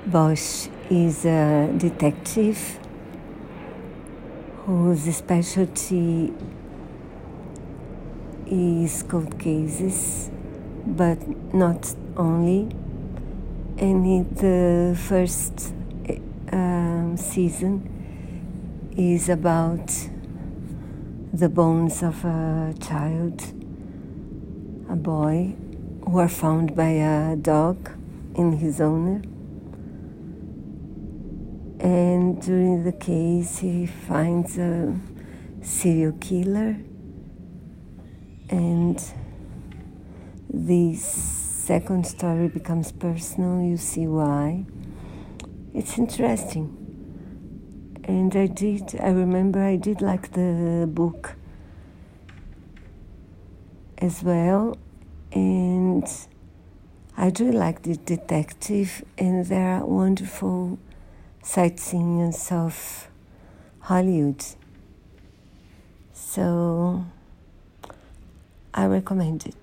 Bosch is a detective whose specialty is cold cases, but not only. And the first season is about the bones of a child, a boy, who are found by a dog in his owner. And during the case, he finds a serial killer, and this second story becomes personal. You see why. It's interesting. And I remember I did like the book as well, and I do like the detective, and there are wonderful sightseeing in South Hollywood. So I recommend it.